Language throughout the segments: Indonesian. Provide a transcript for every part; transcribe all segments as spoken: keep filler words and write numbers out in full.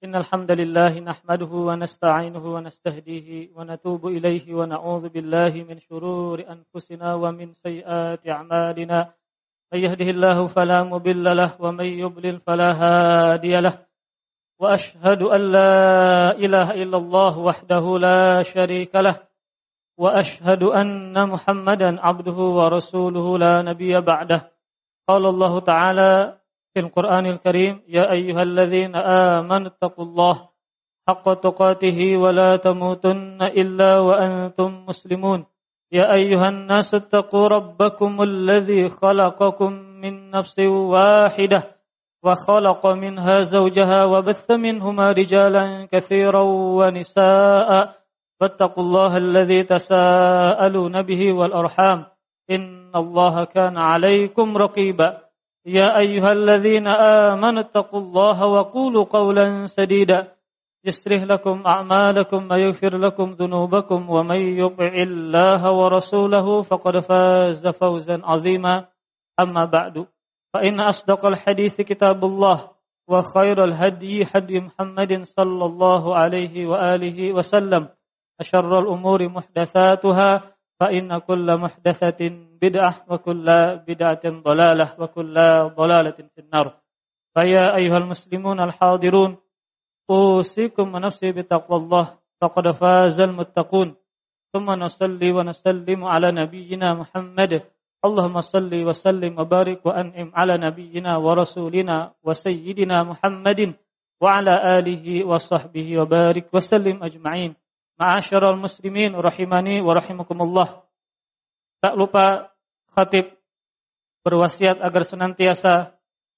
إن الحمد لله نحمده ونستعينه ونستهديه ونتوب إليه ونعوذ بالله من شرور أنفسنا ومن سيئات أعمالنا من يهده الله فلا مضل له ومن يضلل فلا هادي له وأشهد أن لا إله إلا الله وحده لا شريك له وأشهد أن محمدا عبده ورسوله لا نبي بعده قال الله تعالى في القرآن الكريم يا أيها الذين آمنوا اتقوا الله حق تقاته ولا تموتن إلا وأنتم مسلمون يا أيها الناس اتقوا ربكم الذي خلقكم من نفس واحدة وخلق منها زوجها وبث منهما رجالا كثيرا ونساء فاتقوا الله الذي تساءلون به والأرحام إن الله كان عليكم رقيبا يا أيها الذين آمنوا اتقوا الله وقولوا قولا سديدا يصلح لكم أعمالكم ويغفر لكم ذنوبكم ومن يطع الله ورسوله فقد فاز فوزا عظيما أما بعد فإن أصدق الحديث كتاب الله وخير الهدي هدي محمد صلى الله عليه وآله وسلم أشر الأمور محدثاتها فإن كل محدثة بدعة وكل بدعة ضلالة وكل ضلالة في النار فيا أيها المسلمون الحاضرون أوصيكم ونفسي بتقوى الله فقد فاز المتقون ثم نصلي ونسلم على نبينا محمد اللهم صل وسلم وبارك وأنعم على نبينا ورسولنا وسيدنا محمد وعلى آله وصحبه وبارك وسلم أجمعين. Ma'asyiral muslimin rahimani wa rahimakumullah. Tak lupa khatib berwasiat agar senantiasa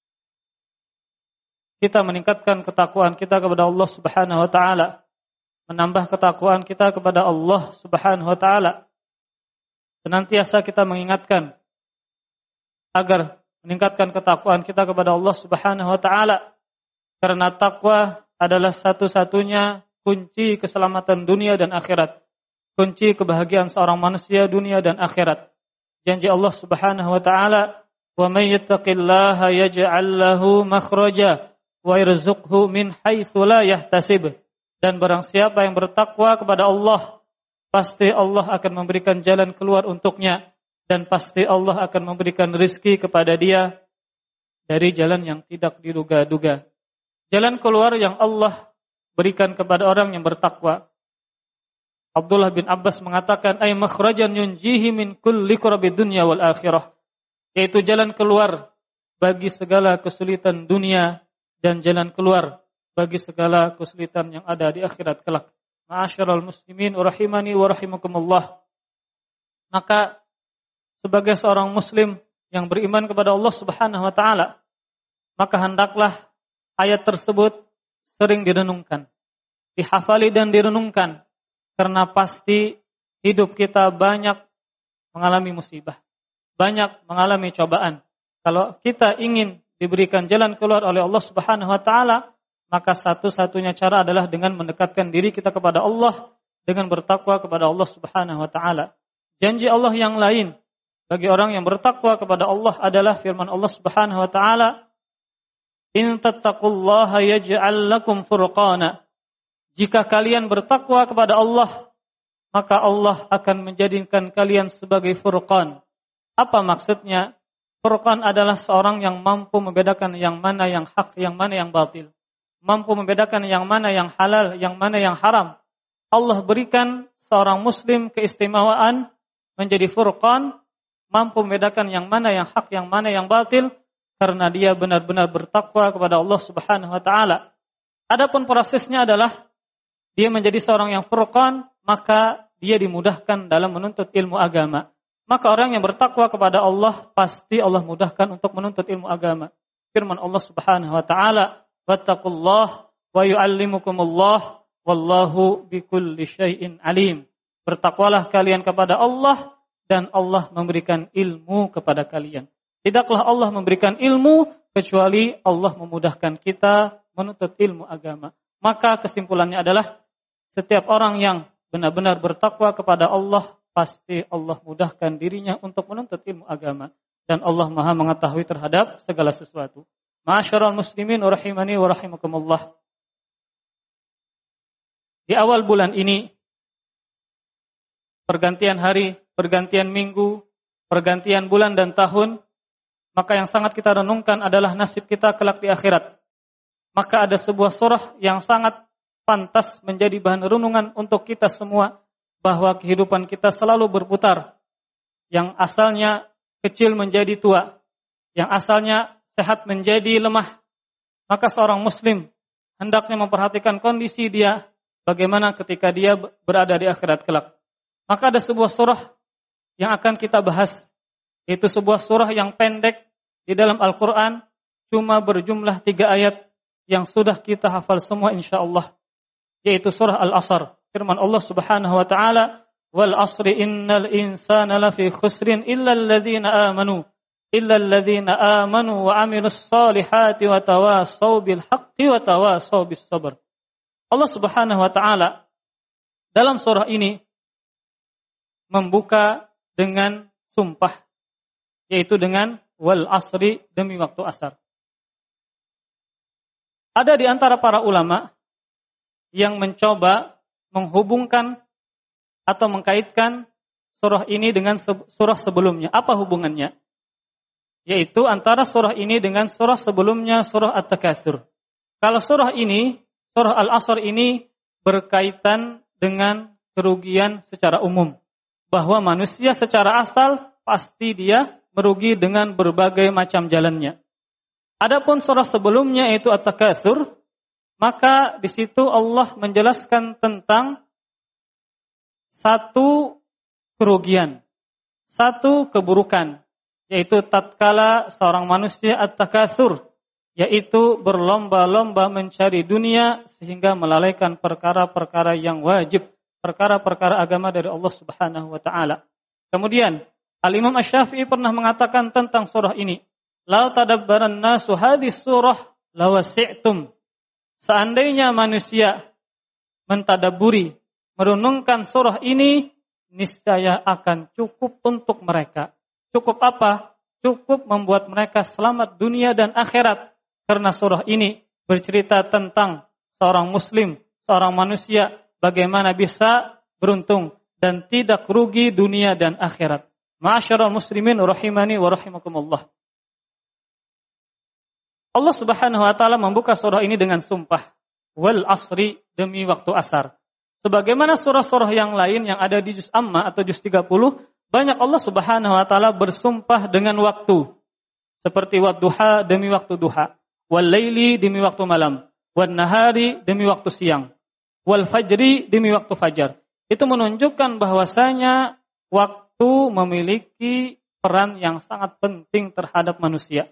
kita meningkatkan ketakwaan kita kepada Allah Subhanahu wa taala, menambah ketakwaan kita kepada Allah Subhanahu wa taala. Senantiasa kita mengingatkan agar meningkatkan ketakwaan kita kepada Allah Subhanahu wa taala, karena takwa adalah satu-satunya kunci keselamatan dunia dan akhirat, kunci kebahagiaan seorang manusia dunia dan akhirat. Janji Allah Subhanahu wa taala, "Wa may yattaqillaha yaj'al lahu makhraja wa yarzuqhu min haitsu la yahtasib." Dan barang siapa yang bertakwa kepada Allah, pasti Allah akan memberikan jalan keluar untuknya, dan pasti Allah akan memberikan rizki kepada dia dari jalan yang tidak diduga-duga. Jalan keluar yang Allah berikan kepada orang yang bertakwa. Abdullah bin Abbas mengatakan, ay makhrajan yunjihi min kulli kurabid dunya wal akhirah, yaitu jalan keluar bagi segala kesulitan dunia dan jalan keluar bagi segala kesulitan yang ada di akhirat kelak. Ma'asyiral muslimin rahimani wa rahimakumullah. Maka sebagai seorang muslim yang beriman kepada Allah Subhanahu wa taala, maka hendaklah ayat tersebut sering direnungkan, dihafali dan direnungkan, karena pasti hidup kita banyak mengalami musibah, banyak mengalami cobaan. Kalau kita ingin diberikan jalan keluar oleh Allah Subhanahu wa taala, maka satu-satunya cara adalah dengan mendekatkan diri kita kepada Allah, dengan bertakwa kepada Allah Subhanahu wa taala. Janji Allah yang lain bagi orang yang bertakwa kepada Allah adalah firman Allah Subhanahu wa taala, in tattaqullaha yaj'al lakum furqana. Jika kalian bertakwa kepada Allah, maka Allah akan menjadikan kalian sebagai furqan. Apa maksudnya? Furqan adalah seorang yang mampu membedakan yang mana yang hak, yang mana yang batil. Mampu membedakan yang mana yang halal, yang mana yang haram. Allah berikan seorang muslim keistimewaan menjadi furqan, mampu membedakan yang mana yang hak, yang mana yang batil, karena dia benar-benar bertakwa kepada Allah Subhanahu wa taala. Adapun prosesnya adalah dia menjadi seorang yang furqan, maka dia dimudahkan dalam menuntut ilmu agama. Maka orang yang bertakwa kepada Allah, pasti Allah mudahkan untuk menuntut ilmu agama. Firman Allah Subhanahu wa taala, "Wattaqullah wa yu'allimukumullah wallahu bikulli syai'in alim." Bertakwalah kalian kepada Allah, dan Allah memberikan ilmu kepada kalian. Tidaklah Allah memberikan ilmu kecuali Allah memudahkan kita menuntut ilmu agama. Maka kesimpulannya adalah setiap orang yang benar-benar bertakwa kepada Allah, pasti Allah mudahkan dirinya untuk menuntut ilmu agama. Dan Allah Maha mengetahui terhadap segala sesuatu. Ma'asyiral muslimin rahimani wa rahimakumullah. di awal bulan ini, pergantian hari, pergantian minggu, pergantian bulan dan tahun, maka yang sangat kita renungkan adalah nasib kita kelak di akhirat. Maka ada sebuah surah yang sangat pantas menjadi bahan renungan untuk kita semua, bahwa kehidupan kita selalu berputar. Yang asalnya kecil menjadi tua, yang asalnya sehat menjadi lemah. Maka seorang muslim hendaknya memperhatikan kondisi dia, bagaimana ketika dia berada di akhirat kelak. Maka ada sebuah surah yang akan kita bahas, yaitu sebuah surah yang pendek di dalam Al-Quran, cuma berjumlah tiga ayat yang sudah kita hafal semua insyaallah, yaitu surah Al-Asr. Firman Allah Subhanahu wa taala, "Wal 'asri innal insana lafi khusrin illa alladhina amanu illa alladhina amanu wa 'amilus solihati wa tawasaw bil haqqi wa tawasaw bis sabr." Allah Subhanahu wa taala dalam surah ini membuka dengan sumpah, yaitu dengan wal 'asri, demi waktu asar. Ada di antara para ulama yang mencoba menghubungkan atau mengkaitkan surah ini dengan surah sebelumnya. Apa hubungannya? Yaitu antara surah ini dengan surah sebelumnya, surah At-Takatsur. Kalau surah ini, surah Al-Asr ini berkaitan dengan kerugian secara umum, bahwa manusia secara asal pasti dia merugi dengan berbagai macam jalannya. Adapun surah sebelumnya yaitu At-Takatsur, maka di situ Allah menjelaskan tentang satu kerugian, satu keburukan, yaitu tatkala seorang manusia at-takatsur, yaitu berlomba-lomba mencari dunia sehingga melalaikan perkara-perkara yang wajib, perkara-perkara agama dari Allah Subhanahu wa taala. Kemudian Al-Imam Asy-Syafi'i pernah mengatakan tentang surah ini, "La tadabbaran nasu hadhihi surah lawasi'tum." Seandainya manusia mentadabburi, merenungkan surah ini, niscaya akan cukup untuk mereka. Cukup apa? Cukup membuat mereka selamat dunia dan akhirat. Karena surah ini bercerita tentang seorang muslim, seorang manusia, bagaimana bisa beruntung dan tidak rugi dunia dan akhirat. Ma'asyiral muslimin rahimani wa rahimakumullah. Allah Subhanahu wa taala membuka surah ini dengan sumpah, wal 'asri, demi waktu asar. Sebagaimana surah-surah yang lain yang ada di juz Amma atau juz tiga puluh, banyak Allah Subhanahu wa taala bersumpah dengan waktu. Seperti wadduha, demi waktu duha, wal laili, demi waktu malam, wan nahari, demi waktu siang, wal fajri, demi waktu fajar. Itu menunjukkan bahwasanya waktu memiliki peran yang sangat penting terhadap manusia.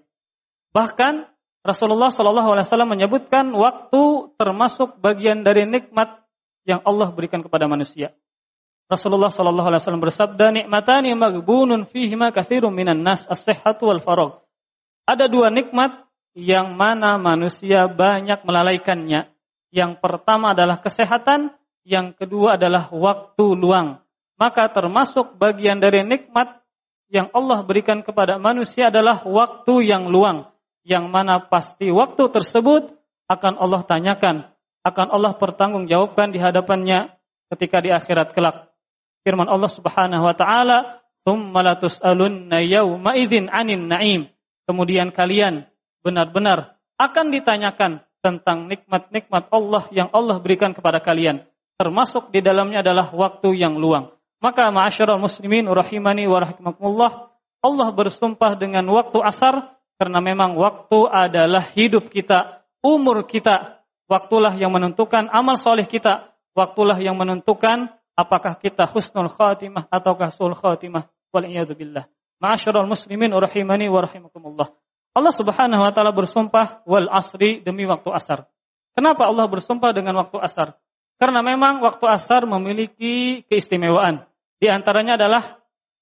Bahkan Rasulullah shallallahu alaihi wasallam menyebutkan waktu termasuk bagian dari nikmat yang Allah berikan kepada manusia. Rasulullah shallallahu alaihi wasallam bersabda, "Nikmatani maghbunun fihima katsirun minan nas, as-sihhatu wal faragh." Ada dua nikmat yang mana manusia banyak melalaikannya. Yang pertama adalah kesehatan, yang kedua adalah waktu luang. Maka termasuk bagian dari nikmat yang Allah berikan kepada manusia adalah waktu yang luang, yang mana pasti waktu tersebut akan Allah tanyakan, akan Allah pertanggungjawabkan di hadapannya ketika di akhirat kelak. Firman Allah Subhanahu wa taala, "Tsumma latus'alunna yauma idzin 'anin na'im." Kemudian kalian benar-benar akan ditanyakan tentang nikmat-nikmat Allah yang Allah berikan kepada kalian. Termasuk di dalamnya adalah waktu yang luang. Maka ma'asyiral muslimin rahimani wa rahimakumullah, Allah bersumpah dengan waktu asar karena memang waktu adalah hidup kita, umur kita. Waktulah yang menentukan amal soleh kita. Waktulah yang menentukan apakah kita husnul khatimah ataukah su'ul khatimah. Wal'iyadu billah. Ma'asyiral muslimin rahimani wa rahimakumullah. Allah Subhanahu wa taala bersumpah wal asri, demi waktu asar. Kenapa Allah bersumpah dengan waktu asar? Karena memang waktu asar memiliki keistimewaan. Di antaranya adalah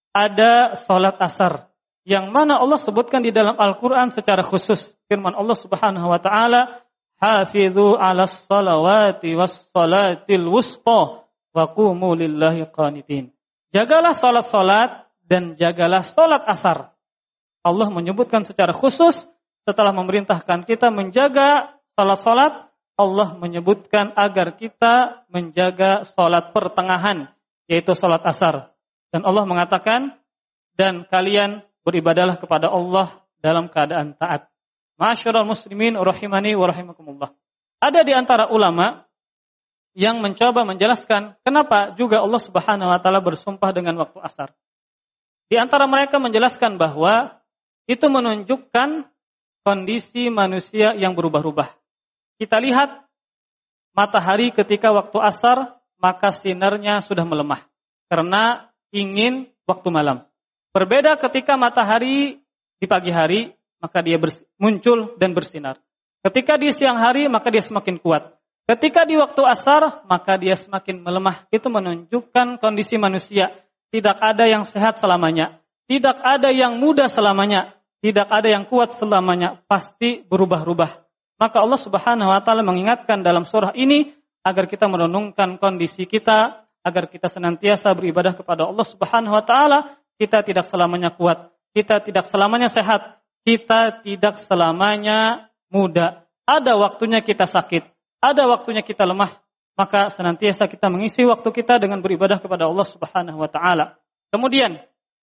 ada salat asar yang mana Allah sebutkan di dalam Al-Qur'an secara khusus. Firman Allah Subhanahu wa taala, "Hafizu 'alas salawati was salatil wusta wa qumu lillahi qanitin." Jagalah salat-salat dan jagalah salat asar. Allah menyebutkan secara khusus setelah memerintahkan kita menjaga salat-salat, Allah menyebutkan agar kita menjaga salat pertengahan, yaitu salat asar. Dan Allah mengatakan, dan kalian beribadahlah kepada Allah dalam keadaan taat. Ma'asyiral muslimin rahimani wa rahimakumullah. Ada di antara ulama yang mencoba menjelaskan kenapa juga Allah Subhanahu wa taala bersumpah dengan waktu asar. Di antara mereka menjelaskan bahwa itu menunjukkan kondisi manusia yang berubah-ubah. Kita lihat matahari ketika waktu asar, maka sinarnya sudah melemah karena ingin waktu malam. Berbeda ketika matahari di pagi hari, maka dia muncul dan bersinar. Ketika di siang hari, maka dia semakin kuat. Ketika di waktu asar, maka dia semakin melemah. Itu menunjukkan kondisi manusia. Tidak ada yang sehat selamanya. Tidak ada yang muda selamanya. Tidak ada yang kuat selamanya. Pasti berubah-ubah. Maka Allah Subhanahu wa taala mengingatkan dalam surah ini agar kita merenungkan kondisi kita, agar kita senantiasa beribadah kepada Allah Subhanahu wa taala. Kita tidak selamanya kuat. Kita tidak selamanya sehat. Kita tidak selamanya muda. Ada waktunya kita sakit. Ada waktunya kita lemah. Maka senantiasa kita mengisi waktu kita dengan beribadah kepada Allah Subhanahu wa taala. Kemudian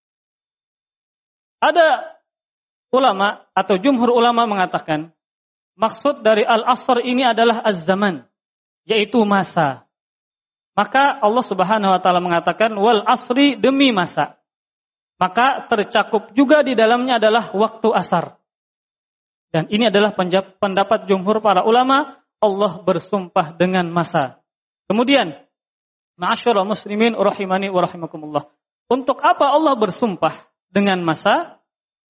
ada ulama atau jumhur ulama mengatakan maksud dari al-asr ini adalah az-zaman, yaitu masa. Maka Allah Subhanahu wa taala mengatakan wal asri, demi masa. Maka tercakup juga di dalamnya adalah waktu asar. Dan ini adalah pendapat jumhur para ulama, Allah bersumpah dengan masa. Kemudian, ma'asyiral muslimin rahimani wa rahimakumullah. Untuk apa Allah bersumpah dengan masa?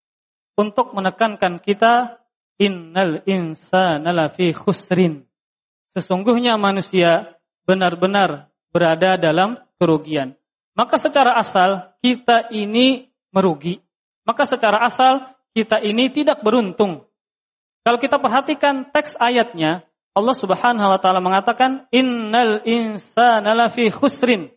Untuk menekankan kita, innal insana lafi khusrin. Sesungguhnya manusia benar-benar berada dalam kerugian. Maka secara asal kita ini merugi. Maka secara asal kita ini tidak beruntung. Kalau kita perhatikan teks ayatnya, Allah Subhanahu wa taala mengatakan innal insana lafi khusrin.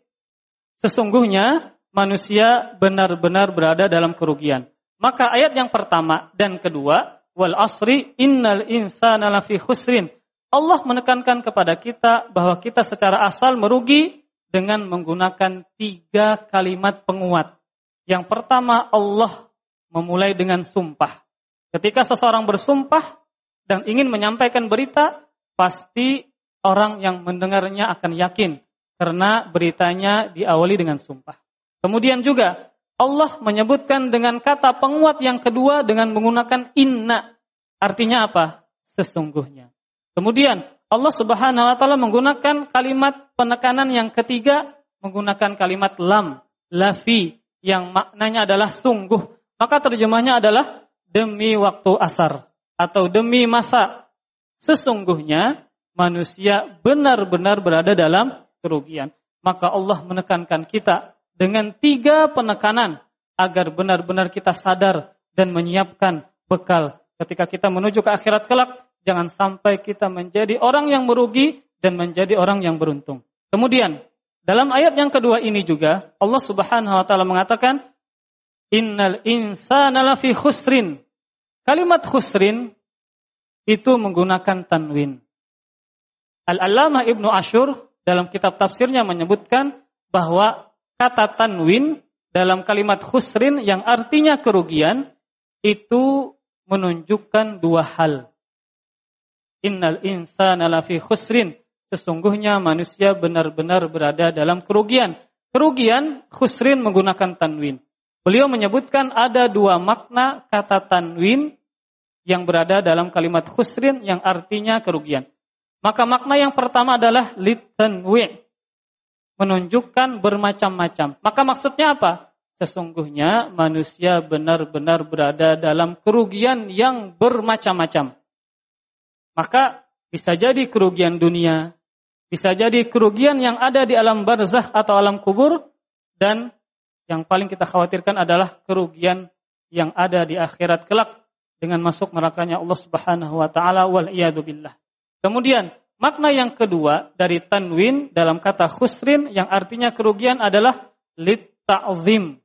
Sesungguhnya manusia benar-benar berada dalam kerugian. Maka ayat yang pertama dan kedua, wal asri innal insana lafi khusrin. Allah menekankan kepada kita bahwa kita secara asal merugi dengan menggunakan tiga kalimat penguat. Yang pertama, Allah memulai dengan sumpah. Ketika seseorang bersumpah dan ingin menyampaikan berita, pasti orang yang mendengarnya akan yakin karena beritanya diawali dengan sumpah. Kemudian juga Allah menyebutkan dengan kata penguat yang kedua dengan menggunakan inna. Artinya apa? Sesungguhnya. Kemudian Allah Subhanahu wa taala menggunakan kalimat penekanan yang ketiga menggunakan kalimat lam, lafi, yang maknanya adalah sungguh. Maka terjemahnya adalah demi waktu asar atau demi masa. Sesungguhnya manusia benar-benar berada dalam kerugian. Maka Allah menekankan kita dengan tiga penekanan agar benar-benar kita sadar dan menyiapkan bekal ketika kita menuju ke akhirat kelak. Jangan sampai kita menjadi orang yang merugi dan menjadi orang yang beruntung. Kemudian, dalam ayat yang kedua ini juga, Allah Subhanahu wa taala mengatakan, innal insana lafi khusrin. Kalimat khusrin itu menggunakan tanwin. Al-Allamah Ibnu Asyur dalam kitab tafsirnya menyebutkan bahwa kata tanwin dalam kalimat khusrin yang artinya kerugian itu menunjukkan dua hal. Innal insana lafi khusrin. Sesungguhnya manusia benar-benar berada dalam kerugian. Kerugian, khusrin menggunakan tanwin. Beliau menyebutkan ada dua makna kata tanwin yang berada dalam kalimat khusrin yang artinya kerugian. Maka makna yang pertama adalah litanwi', menunjukkan bermacam-macam. Maka maksudnya apa? Sesungguhnya manusia benar-benar berada dalam kerugian yang bermacam-macam. Maka bisa jadi kerugian dunia, bisa jadi kerugian yang ada di alam barzakh atau alam kubur, dan yang paling kita khawatirkan adalah kerugian yang ada di akhirat kelak dengan masuk nerakanya Allah Subhanahu wa taala wal iyadu billah. Kemudian makna yang kedua dari tanwin dalam kata khusrin yang artinya kerugian adalah lit ta'zim,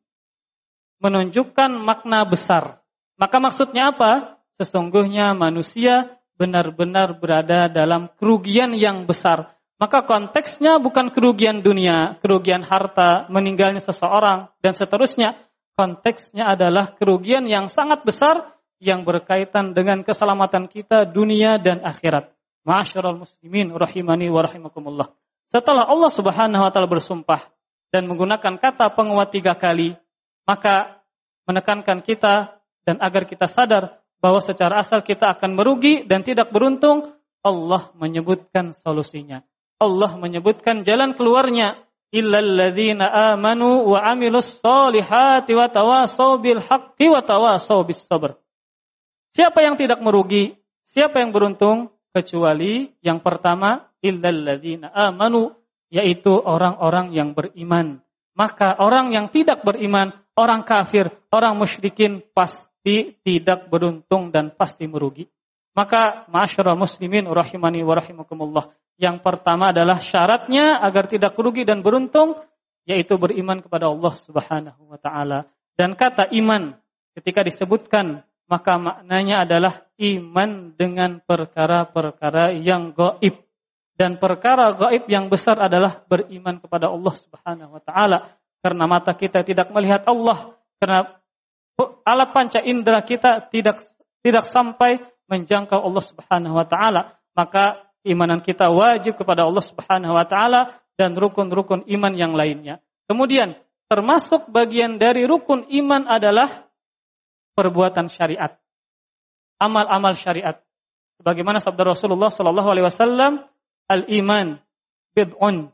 menunjukkan makna besar. Maka maksudnya apa? Sesungguhnya manusia benar-benar berada dalam kerugian yang besar. Maka konteksnya bukan kerugian dunia, kerugian harta, meninggalnya seseorang, dan seterusnya. Konteksnya adalah kerugian yang sangat besar yang berkaitan dengan keselamatan kita dunia dan akhirat. Ma'asyiral muslimin rahimani wa rahimakumullah. Setelah Allah Subhanahu wa taala bersumpah dan menggunakan kata penguat tiga kali, maka menekankan kita dan agar kita sadar bahwa secara asal kita akan merugi dan tidak beruntung, Allah menyebutkan solusinya. Allah menyebutkan jalan keluarnya. Illal ladzina amanu wa amilus solihati wa tawasaw bil haqqi wa tawasaw bis sabr. Siapa yang tidak merugi? Siapa yang beruntung? Kecuali yang pertama, illal ladzina amanu, yaitu orang-orang yang beriman. Maka orang yang tidak beriman, orang kafir, orang musyrikin pasti tidak beruntung dan pasti merugi. Maka ma'asyiral muslimin rahimani wa rahimakumullah. Yang pertama adalah syaratnya agar tidak rugi dan beruntung, yaitu beriman kepada Allah Subhanahu wa taala. Dan kata iman ketika disebutkan, maka maknanya adalah iman dengan perkara-perkara yang gaib. Dan perkara gaib yang besar adalah beriman kepada Allah Subhanahu wa taala. Karena mata kita tidak melihat Allah, karena alat panca indera kita tidak tidak sampai menjangkau Allah Subhanahu wa taala, maka keimanan kita wajib kepada Allah Subhanahu wa taala dan rukun-rukun iman yang lainnya. Kemudian termasuk bagian dari rukun iman adalah perbuatan syariat. Amal-amal syariat. Sebagaimana sabda Rasulullah sallallahu alaihi wasallam, al-iman bid'un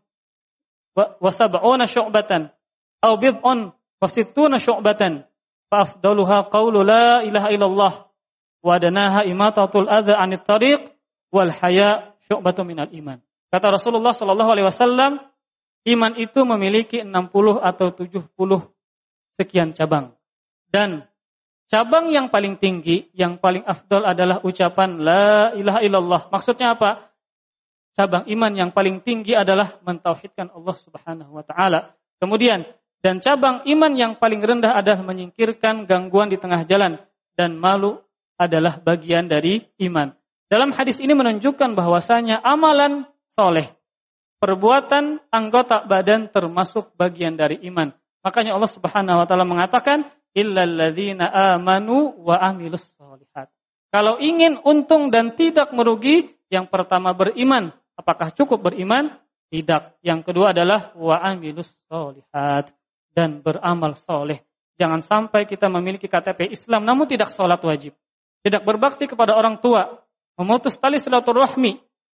wa sab'una syu'batan aw bid'un wa sittuna syu'batan fa afdaluha qaulu la ilaha illallah wa adnaha imatatul adza 'anit tariq wal haya' syu'batun minal iman. Kata Rasulullah sallallahu alaihi wasallam, iman itu memiliki enam puluh atau tujuh puluh sekian cabang. Dan cabang yang paling tinggi, yang paling afdal adalah ucapan la ilaha illallah. Maksudnya apa? Cabang iman yang paling tinggi adalah mentauhidkan Allah Subhanahu wa taala. Kemudian, dan cabang iman yang paling rendah adalah menyingkirkan gangguan di tengah jalan, dan malu adalah bagian dari iman. Dalam hadis ini menunjukkan bahwasanya amalan soleh, perbuatan anggota badan termasuk bagian dari iman. Makanya Allah Subhanahu wa taala mengatakan, illal ladzina amanu wa amilus solihat. Kalau ingin untung dan tidak merugi, yang pertama beriman. Apakah cukup beriman? Tidak. Yang kedua adalah wa amilus solihat, dan beramal soleh. Jangan sampai kita memiliki K T P Islam namun tidak sholat wajib, tidak berbakti kepada orang tua, memutus tali silaturahmi,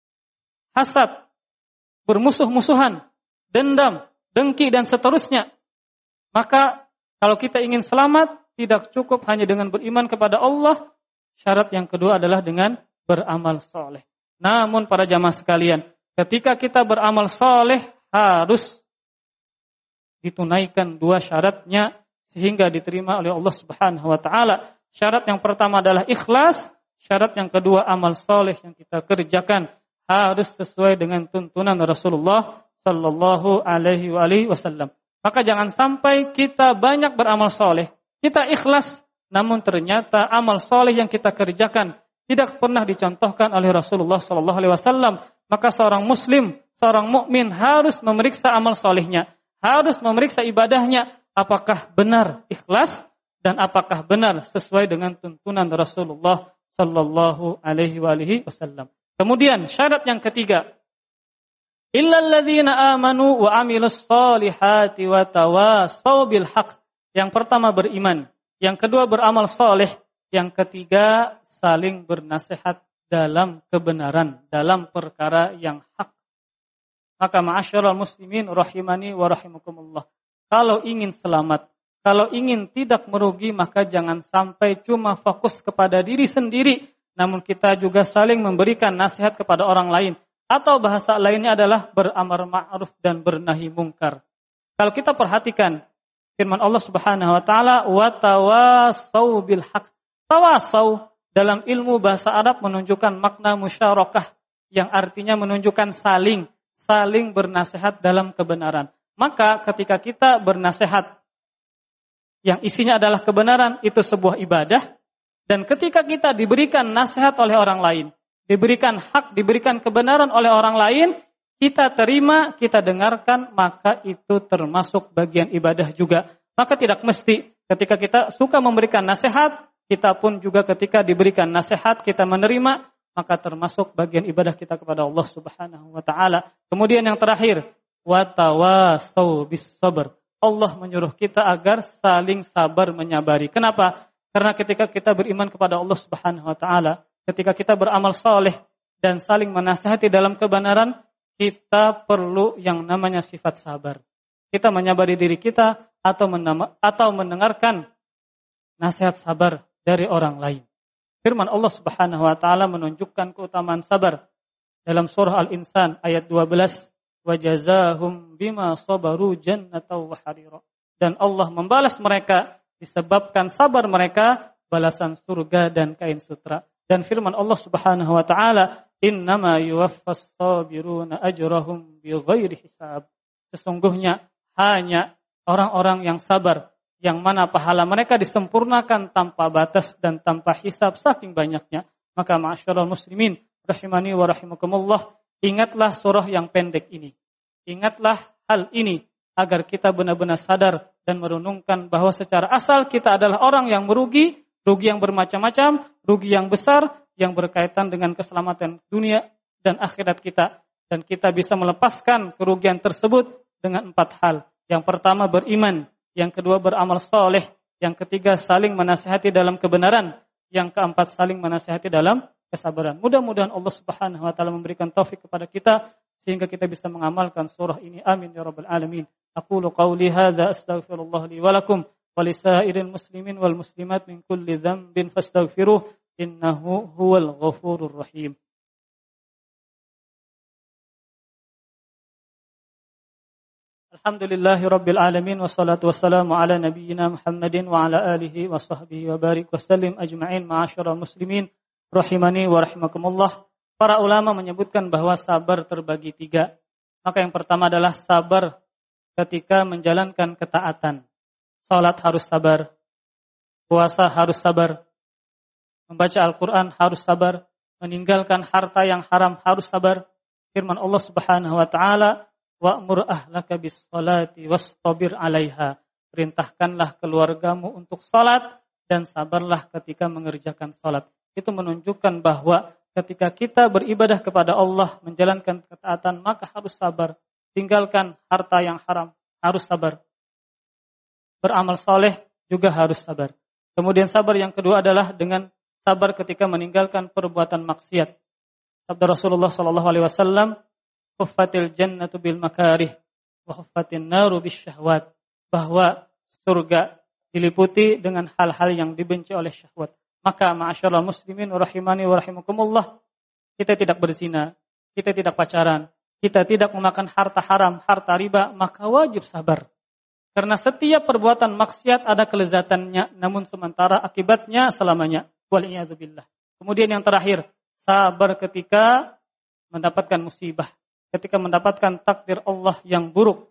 hasad, bermusuh-musuhan, dendam, dengki, dan seterusnya. Maka kalau kita ingin selamat, tidak cukup hanya dengan beriman kepada Allah. Syarat yang kedua adalah dengan beramal soleh. Namun para jamaah sekalian, ketika kita beramal soleh, harus ditunaikan dua syaratnya sehingga diterima oleh Allah Subhanahu wa taala. Syarat yang pertama adalah ikhlas. Syarat yang kedua, amal soleh yang kita kerjakan harus sesuai dengan tuntunan Rasulullah Sallallahu Alaihi Wasallam. Maka jangan sampai kita banyak beramal soleh, kita ikhlas, namun ternyata amal soleh yang kita kerjakan tidak pernah dicontohkan oleh Rasulullah Sallallahu Alaihi Wasallam. Maka seorang Muslim, seorang mukmin harus memeriksa amal solehnya, harus memeriksa ibadahnya, apakah benar ikhlas dan apakah benar sesuai dengan tuntunan Rasulullah Sallallahu alaihi wa alihi wasallam. Kemudian syarat yang ketiga, illal ladzina amanu wa amilus solihati wa tawasaw bil haqq. Yang pertama beriman, yang kedua beramal soleh, yang ketiga saling bernasihat dalam kebenaran, dalam perkara yang hak. Maka ma'asyiral muslimin rahimani wa rahimakumullah, kalau ingin selamat, kalau ingin tidak merugi, maka jangan sampai cuma fokus kepada diri sendiri, namun kita juga saling memberikan nasihat kepada orang lain. Atau bahasa lainnya adalah beramar ma'ruf dan bernahi mungkar. Kalau kita perhatikan firman Allah Subhanahu wa taala, wa tawasaw bil haq. Tawasaw dalam ilmu bahasa Arab menunjukkan makna musyarakah, yang artinya menunjukkan saling, saling bernasihat dalam kebenaran. Maka ketika kita bernasihat yang isinya adalah kebenaran, itu sebuah ibadah. Dan ketika kita diberikan nasihat oleh orang lain, diberikan hak, diberikan kebenaran oleh orang lain, kita terima, kita dengarkan, maka itu termasuk bagian ibadah juga. Maka tidak mesti ketika kita suka memberikan nasihat, kita pun juga ketika diberikan nasihat, kita menerima, maka termasuk bagian ibadah kita kepada Allah Subhanahu wa taala. Kemudian yang terakhir, wa tawasau bis sabr. Allah menyuruh kita agar saling sabar menyabari. Kenapa? Karena ketika kita beriman kepada Allah Subhanahu wa taala, ketika kita beramal saleh dan saling menasihati dalam kebenaran, kita perlu yang namanya sifat sabar. Kita menyabari diri kita atau menama, atau mendengarkan nasihat sabar dari orang lain. Firman Allah Subhanahu wa taala menunjukkan keutamaan sabar dalam surah Al-Insan ayat dua belas, wa jazahum bima sabaru jannatan wa harira. Dan Allah membalas mereka disebabkan sabar mereka balasan surga dan kain sutra. Dan firman Allah Subhanahu wa taala, innama yuwaffas sabiruna ajrahum bighairi hisab. Sesungguhnya hanya orang-orang yang sabar yang mana pahala mereka disempurnakan tanpa batas dan tanpa hisab saking banyaknya. Maka ma'asyiral muslimin rahimani wa rahimakumullah, ingatlah surah yang pendek ini. Ingatlah hal ini agar kita benar-benar sadar dan merenungkan bahwa secara asal kita adalah orang yang merugi, rugi yang bermacam-macam, rugi yang besar yang berkaitan dengan keselamatan dunia dan akhirat kita. Dan kita bisa melepaskan kerugian tersebut dengan empat hal. Yang pertama beriman, yang kedua beramal soleh, yang ketiga saling menasihati dalam kebenaran, yang keempat saling menasihati dalam kesabaran. Mudah-mudahan Allah Subhanahu wa taala memberikan taufik kepada kita sehingga kita bisa mengamalkan surah ini. Amin ya rabbal alamin. Aqulu qawli hadza astaghfirullah li wa lakum wa lisairil muslimin wal muslimat min kulli dhanbin fastaghfiruh innahu huwal ghafurur rahim. Alhamdulillahi rabbil alamin wassalatu wassalamu ala nabiyyina Muhammadin wa ala alihi wa sahbihi wa barik wa sallim ajma'in. Ma'asyiral muslimin rahimani wa rahimakumullah. Para ulama menyebutkan bahwa sabar terbagi tiga. Maka yang pertama adalah sabar ketika menjalankan ketaatan. Salat harus sabar, puasa harus sabar, membaca Al-Quran harus sabar, meninggalkan harta yang haram harus sabar. Firman Allah Subhanahu wa taala, wa'mur ahlaka bis-sholati wastabir 'alaiha. Perintahkanlah keluargamu untuk salat dan sabarlah ketika mengerjakan salat. Itu menunjukkan bahwa ketika kita beribadah kepada Allah, menjalankan ketaatan, maka harus sabar. Tinggalkan harta yang haram, harus sabar. Beramal soleh juga harus sabar. Kemudian sabar yang kedua adalah dengan sabar ketika meninggalkan perbuatan maksiat. Sabda Rasulullah sallallahu alaihi wasallam, huffatil jannatu bil makarih wa huffatin naru bis syahwat. Bahwa surga diliputi dengan hal-hal yang dibenci oleh syahwat. Maka ma'asyiral muslimin rahimani wa rahimakumullah, kita tidak berzina, kita tidak pacaran, kita tidak memakan harta haram, harta riba, maka wajib sabar. Karena setiap perbuatan maksiat ada kelezatannya, namun sementara akibatnya selamanya. Wal'iyadzubillah. Kemudian yang terakhir, sabar ketika mendapatkan musibah, ketika mendapatkan takdir Allah yang buruk.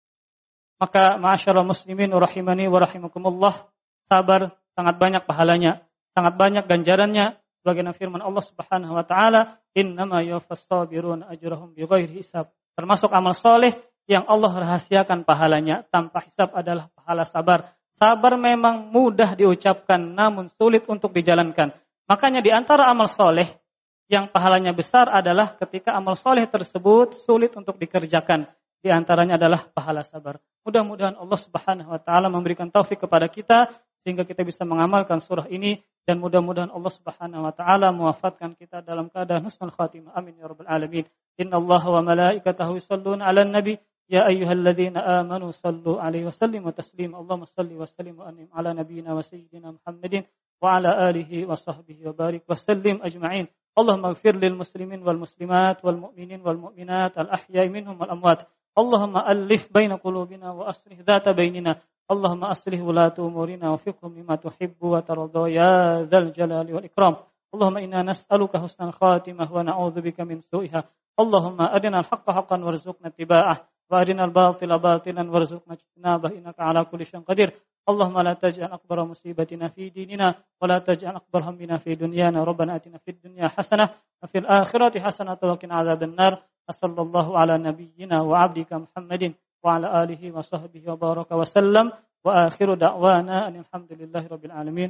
Maka ma'asyiral muslimin rahimani wa rahimakumullah, sabar sangat banyak pahalanya. Sangat banyak ganjarannya, sebagaimana firman Allah Subhanahu wa taala, innama yuwaffas sabiruna ajrahum bighairi hisab. Termasuk amal soleh yang Allah rahasiakan pahalanya tanpa hisab adalah pahala sabar. Sabar memang mudah diucapkan namun sulit untuk dijalankan. Makanya di antara amal soleh yang pahalanya besar adalah ketika amal soleh tersebut sulit untuk dikerjakan. Di antaranya adalah pahala sabar. Mudah-mudahan Allah Subhanahu wa taala memberikan taufik kepada kita sehingga kita bisa mengamalkan surah ini, dan mudah-mudahan Allah Subhanahu wa taala mewafatkan kita dalam keadaan husnul khatimah. Amin ya rabbal alamin. Innallaha wa malaikatahu yusholluna 'alan nabi ya ayyuhalladzina amanu shallu 'alaihi wa sallimu taslima. Allahumma shalli wa sallim wa an'im 'ala nabiyyina wa sayyidina Muhammadin wa 'ala alihi wa sahbihi wa barik wa sallim ajma'in. Allahumma ighfir lil muslimin wal muslimat wal mu'minin wal mu'minat al ahya'i minhum wal amwat. Allahumma alif baina qulubina wa aslih dhata bainina. Allahumma aslih wulata umurina wa fiqhum lima tuhibbu wa tarda ya dzal jalali wal ikram. Allahumma inna nas'aluka husnal khatimah wa na'udzubika min su'iha. Allahumma adina al-haqqa haqqan warzuqna ittiba'ah wa adina al-batila batilan warzuqna ijtinabah innaka ala kulli syai'in qadir. اللهم لا تجعل أكبر مصيبتنا في ديننا ولا تجعل أكبر همنا في دنيانا ربنا آتنا في الدنيا حسنة وفي الآخرة حسنة وقنا عذاب النار صلى الله على نبينا وعبدك محمد وعلى آله وصحبه وبارك وسلم وآخر دعوانا أن الحمد لله رب العالمين.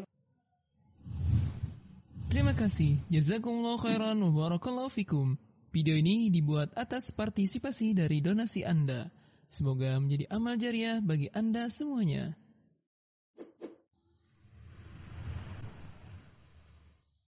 Terima kasih. Jazakumullah khairan wa barakallahu fikum. Video ini dibuat atas partisipasi dari donasi Anda. Semoga menjadi amal jariah bagi Anda semuanya.